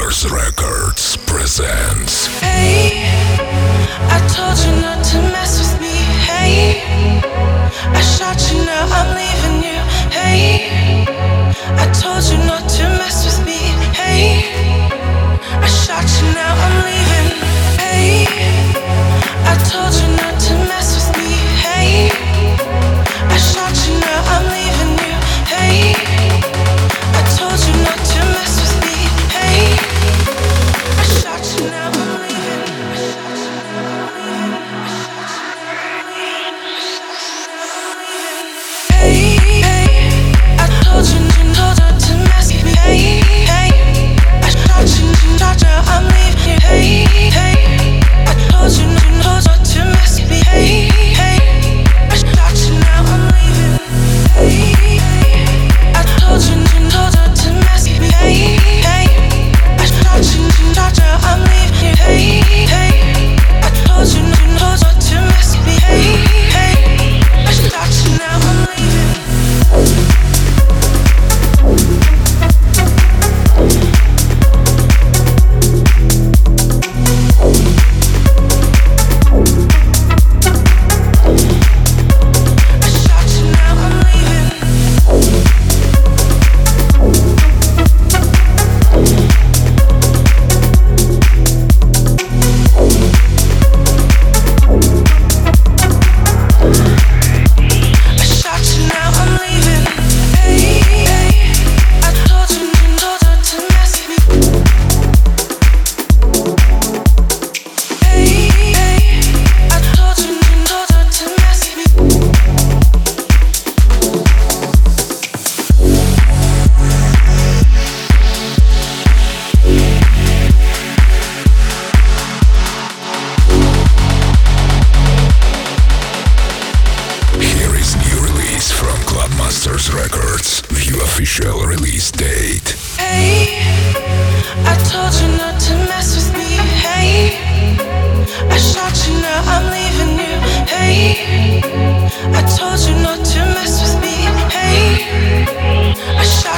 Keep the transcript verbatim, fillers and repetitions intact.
Clubmasters Records presents. Hey, I told you not to mess with me. Hey, I shot you, now I'm leaving you. Hey, I told you not to mess with me. Hey, I shot you, now I'm leaving. Hey, I told you not to mess with me. Hey, I shot you, now I'm leaving you. Hey, I told you not to mess with me. Hey, I shot you, now I'm leaving. Hey, hey, I told you, told her to mess with me. Hey, hey, I shot you, shot you, I'm leaving you. Hey, hey, I told you, told her to mess with me. Hey, hey, I shot you, now I'm leaving. Hey, hey, I told you, told her to mess with me. Hey, hey, I shot you, shot you, I'm leaving you. Hey, hey, I told you, told her to mess with me. Hey, hey, I shot you, now I'm leaving. Clubmasters Records, view official release date. Hey, I told you not to mess with me. Hey, I shot you, now I'm leaving you. Hey, I told you not to mess with me. Hey, I shot